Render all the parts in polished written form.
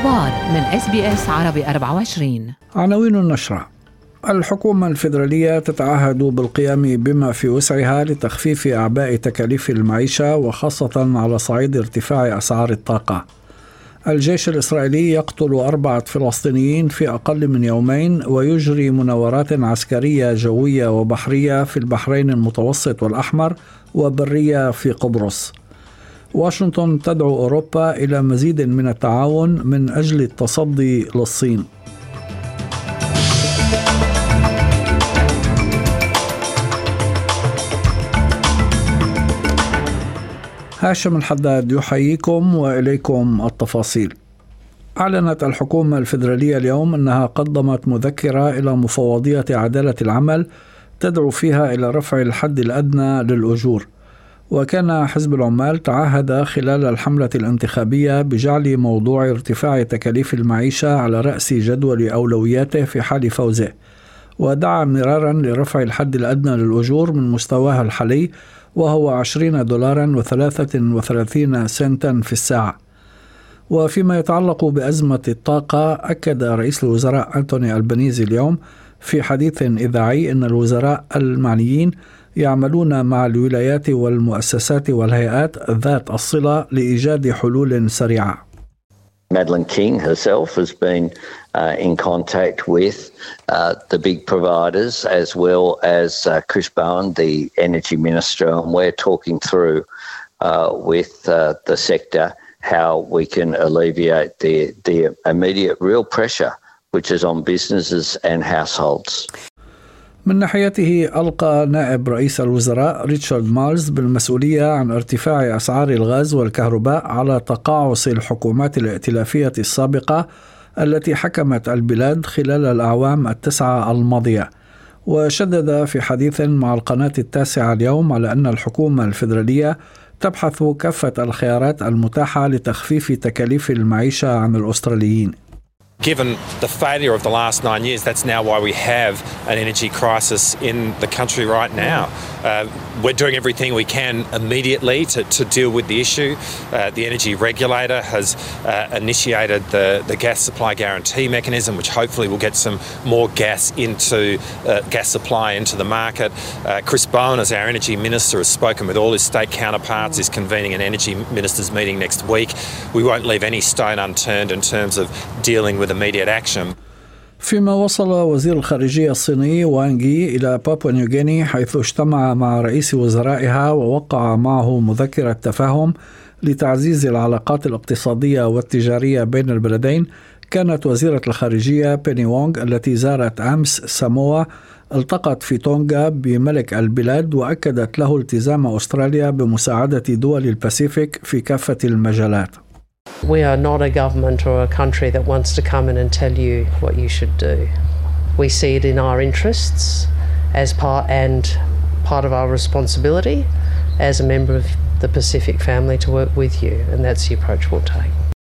الأخبار من SBS عربي 24. عناوين النشرة: الحكومة الفيدرالية تتعهد بالقيام بما في وسعها لتخفيف أعباء تكاليف المعيشة وخاصة على صعيد ارتفاع أسعار الطاقة. الجيش الإسرائيلي يقتل 4 فلسطينيين في أقل من يومين ويجري مناورات عسكرية جوية وبحرية في البحرين المتوسط والأحمر وبرية في قبرص. واشنطن تدعو أوروبا إلى مزيد من التعاون من أجل التصدي للصين. هاشم الحداد يحييكم وإليكم التفاصيل. أعلنت الحكومة الفيدرالية اليوم أنها قدمت مذكرة إلى مفوضية عدالة العمل تدعو فيها إلى رفع الحد الأدنى للأجور. وكان حزب العمال تعهد خلال الحملة الانتخابية بجعل موضوع ارتفاع تكاليف المعيشة على رأس جدول أولوياته في حال فوزه، ودعا مرارا لرفع الحد الأدنى للأجور من مستواه الحالي وهو $20.33 في الساعة. وفيما يتعلق بأزمة الطاقة، أكد رئيس الوزراء أنتوني ألبانيزي اليوم في حديث إذاعي أن الوزراء المعنيين يعملون مع الولايات والمؤسسات والهيئات ذات الصلة لإيجاد حلول سريعة. Madeleine King herself has been in contact with the big providers as well as Chris Bowen, the Energy Minister, and we're talking through with the sector how we can alleviate the immediate real pressure which is on businesses and households. من ناحيته ألقى نائب رئيس الوزراء ريتشارد مارز بالمسؤولية عن ارتفاع أسعار الغاز والكهرباء على تقاعس الحكومات الائتلافية السابقة التي حكمت البلاد خلال الأعوام 9 الماضية. وشدد في حديث مع القناة 9 اليوم على أن الحكومة الفيدرالية تبحث كافة الخيارات المتاحة لتخفيف تكاليف المعيشة عن الأستراليين. Given the failure of the last 9 years, that's now why we have an energy crisis in the country right now. We're doing everything we can immediately to deal with the issue. The energy regulator has initiated the gas supply guarantee mechanism, which hopefully will get some more gas supply into the market. Chris Bowen, as our energy minister, has spoken with all his state counterparts, is convening an energy ministers meeting next week. We won't leave any stone unturned in terms of dealing with immediate action. فيما وصل وزير الخارجية الصيني وانغ يي إلى بابوا نيوغيني حيث اجتمع مع رئيس وزرائها ووقع معه مذكرة تفاهم لتعزيز العلاقات الاقتصادية والتجارية بين البلدين، كانت وزيرة الخارجية بيني وونغ التي زارت أمس ساموا التقت في تونغا بملك البلاد وأكدت له التزام أستراليا بمساعدة دول الباسيفيك في كافة المجالات. We are not a government or a country that wants to come in and tell you what you should do. We see it in our interests as part of our responsibility as a member of the Pacific family to work with you, and that's the approach we'll take.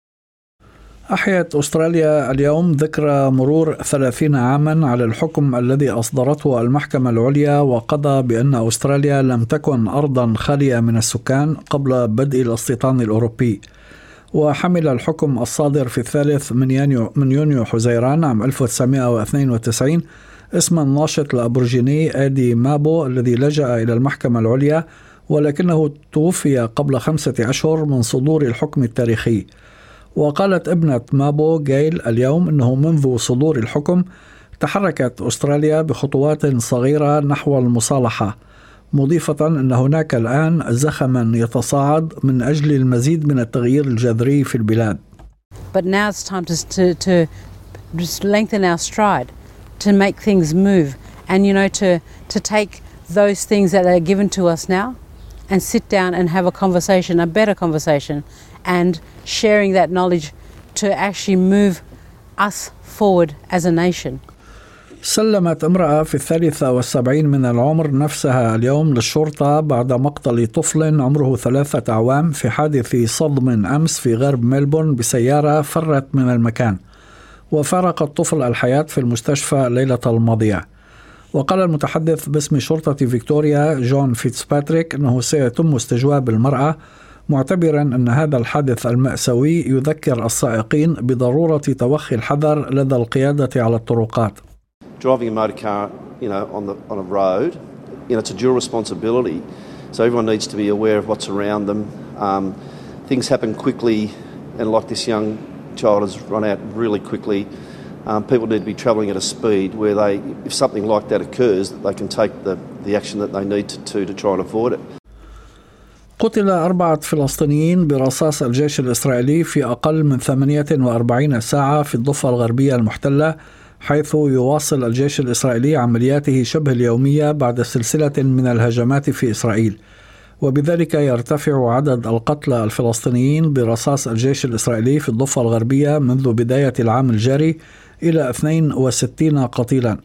أحيت أستراليا اليوم ذكرى مرور 30 عاما على الحكم الذي أصدرته المحكمة العليا وقضى بأن أستراليا لم تكن أرضا خالية من السكان قبل بدء الاستيطان الأوروبي. وحمل الحكم الصادر في 3 من يونيو حزيران عام 1992 اسم الناشط الأبورجيني آدي مابو الذي لجأ إلى المحكمة العليا، ولكنه توفي قبل 5 أشهر من صدور الحكم التاريخي. وقالت ابنة مابو جايل اليوم أنه منذ صدور الحكم تحركت أستراليا بخطوات صغيرة نحو المصالحة، مضيفة أن هناك الآن زخما يتصاعد من أجل المزيد من التغيير الجذري في البلاد. But now it's time to just lengthen our stride, to make things move, and to take those things that are given to us now and sit down and have a conversation, a better conversation, and sharing that knowledge to actually move us forward as a nation. سلمت امرأة في 73 من العمر نفسها اليوم للشرطة بعد مقتل طفل عمره 3 أعوام في حادث صدم أمس في غرب ملبورن بسيارة فرت من المكان، وفارق الطفل الحياة في المستشفى الليلة الماضية. وقال المتحدث باسم شرطة فيكتوريا جون فيتسباتريك أنه سيتم استجواب المرأة معتبرا أن هذا الحادث المأساوي يذكر السائقين بضرورة توخي الحذر لدى القيادة على الطرقات. Driving a motor car, on a road, it's a dual responsibility. So everyone needs to be aware of what's around them. Things happen quickly, and like this young child has run out really quickly. People need to be travelling at a speed where if something like that occurs, that they can take the action that they need to try and avoid it. قتل 4 فلسطينيين برصاص الجيش الإسرائيلي في أقل من 48 ساعة في الضفة الغربية المحتلة، حيث يواصل الجيش الإسرائيلي عملياته شبه اليومية بعد سلسلة من الهجمات في إسرائيل، وبذلك يرتفع عدد القتلى الفلسطينيين برصاص الجيش الإسرائيلي في الضفة الغربية منذ بداية العام الجاري إلى 62 قتيلا.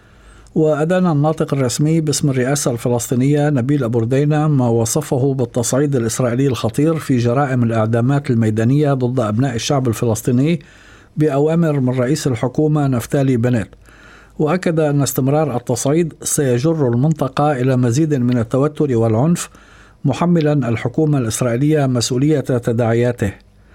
وأدان الناطق الرسمي باسم الرئاسة الفلسطينية نبيل أبو ردينة ما وصفه بالتصعيد الإسرائيلي الخطير في جرائم الإعدامات الميدانية ضد أبناء الشعب الفلسطيني بأوامر من رئيس الحكومة نفتالي بنت، وأكد أن استمرار التصعيد سيجر المنطقة إلى مزيد من التوتر والعنف، محملا الحكومة الإسرائيلية مسؤولية تداعياته.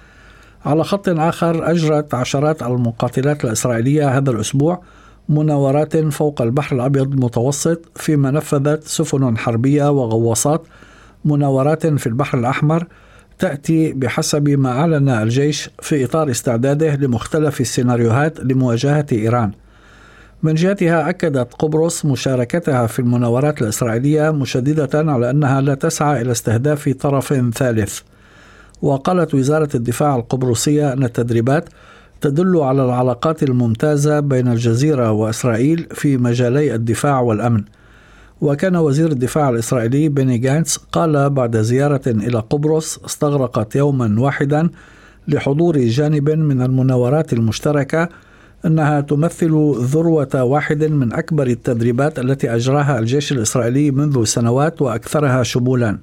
على خط آخر، أجرت عشرات المقاتلات الإسرائيلية هذا الأسبوع مناورات فوق البحر الأبيض المتوسط، فيما نفذت سفن حربية وغواصات مناورات في البحر الأحمر تأتي بحسب ما أعلن الجيش في إطار استعداده لمختلف السيناريوهات لمواجهة إيران. من جهتها أكدت قبرص مشاركتها في المناورات الإسرائيلية، مشددة على أنها لا تسعى إلى استهداف طرف ثالث. وقالت وزارة الدفاع القبرصية أن التدريبات تدل على العلاقات الممتازة بين الجزيرة وإسرائيل في مجالي الدفاع والأمن. وكان وزير الدفاع الإسرائيلي بيني جانتس قال بعد زيارة إلى قبرص استغرقت يوما واحدا لحضور جانب من المناورات المشتركة أنها تمثل ذروة واحد من أكبر التدريبات التي أجراها الجيش الإسرائيلي منذ سنوات وأكثرها شمولا.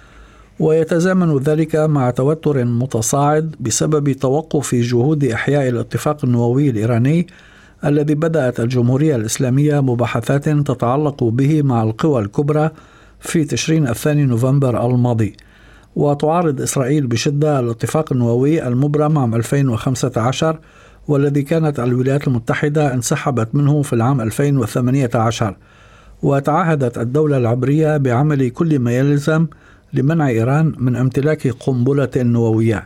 ويتزامن ذلك مع توتر متصاعد بسبب توقف جهود إحياء الاتفاق النووي الإيراني الذي بدأت الجمهورية الإسلامية مباحثات تتعلق به مع القوى الكبرى في تشرين الثاني نوفمبر الماضي. وتعارض إسرائيل بشدة الاتفاق النووي المبرم عام 2015 والذي كانت الولايات المتحدة انسحبت منه في العام 2018، وتعهدت الدولة العبرية بعمل كل ما يلزم لمنع إيران من امتلاك قنبلة نووية.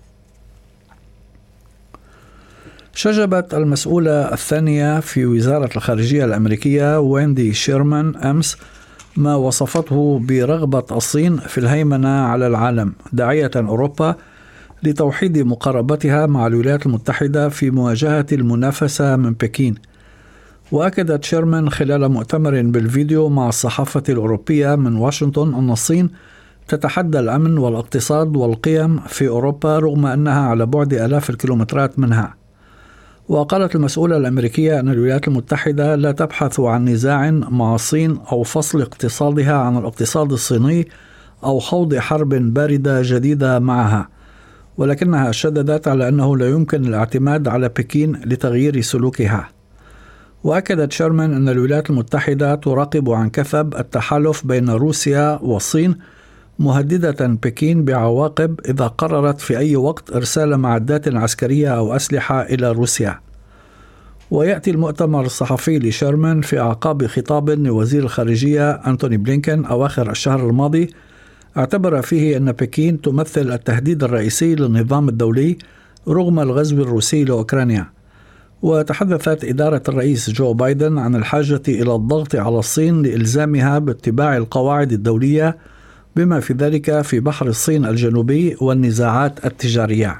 شجبت المسؤولة الثانية في وزارة الخارجية الأمريكية ويندي شيرمان أمس ما وصفته برغبة الصين في الهيمنة على العالم، داعية أوروبا لتوحيد مقاربتها مع الولايات المتحدة في مواجهة المنافسة من بكين. وأكدت شيرمان خلال مؤتمر بالفيديو مع الصحافة الأوروبية من واشنطن أن الصين تتحدى الأمن والاقتصاد والقيم في أوروبا رغم أنها على بعد آلاف الكيلومترات منها. وقالت المسؤولة الأمريكية أن الولايات المتحدة لا تبحث عن نزاع مع الصين أو فصل اقتصادها عن الاقتصاد الصيني أو خوض حرب باردة جديدة معها، ولكنها شددت على أنه لا يمكن الاعتماد على بكين لتغيير سلوكها. وأكدت شيرمان أن الولايات المتحدة تراقب عن كثب التحالف بين روسيا والصين، مهددة بكين بعواقب إذا قررت في أي وقت إرسال معدات عسكرية أو أسلحة إلى روسيا. ويأتي المؤتمر الصحفي لشيرمان في أعقاب خطاب لوزير الخارجية أنتوني بلينكن أواخر الشهر الماضي اعتبر فيه أن بكين تمثل التهديد الرئيسي للنظام الدولي رغم الغزو الروسي لأوكرانيا. وتحدثت إدارة الرئيس جو بايدن عن الحاجة إلى الضغط على الصين لإلزامها باتباع القواعد الدولية بما في ذلك في بحر الصين الجنوبي والنزاعات التجارية.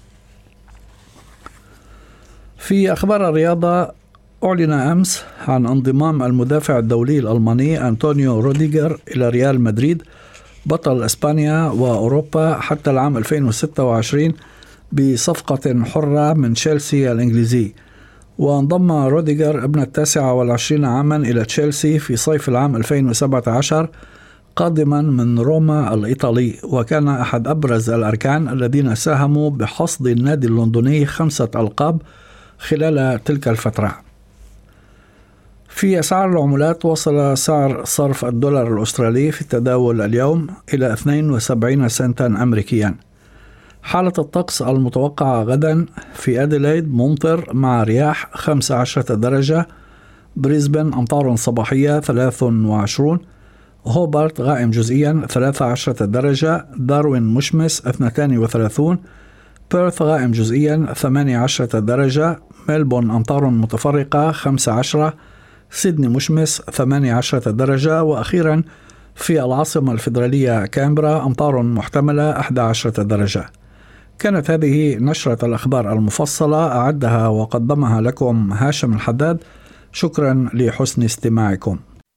في أخبار الرياضة، أعلن أمس عن انضمام المدافع الدولي الألماني أنطونيو روديغر إلى ريال مدريد بطل إسبانيا وأوروبا حتى العام 2026 بصفقة حرة من تشيلسي الإنجليزي. وانضم روديغر ابن 29 عاما إلى تشيلسي في صيف العام 2017 قادما من روما الإيطالي، وكان أحد أبرز الأركان الذين ساهموا بحصد النادي اللندني 5 ألقاب خلال تلك الفترة. في أسعار العملات، وصل سعر صرف الدولار الأسترالي في التداول اليوم إلى 72 سنتا أمريكيا. حالة الطقس المتوقعة غدا: في أديلايد ممطر مع رياح 15 درجة، بريسبن أمطار صباحية 23، هوبارت غائم جزئيا 13 درجة، داروين مشمس 32، بيرث غائم جزئيا 18 درجة، ملبون أمطار متفرقة 15، سيدني مشمس 18 درجة، وأخيرا في العاصمة الفيدرالية كامبرا أمطار محتملة 11 درجة. كانت هذه نشرة الأخبار المفصلة، أعدها وقدمها لكم هاشم الحداد. شكرا لحسن استماعكم.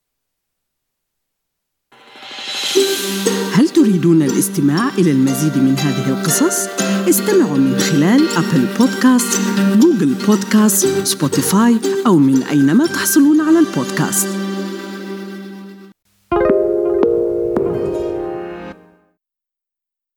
هل تريدون الاستماع إلى المزيد من هذه القصص؟ استمعوا من خلال أبل بودكاست، جوجل بودكاست، سبوتيفاي أو من أينما تحصلون على البودكاست.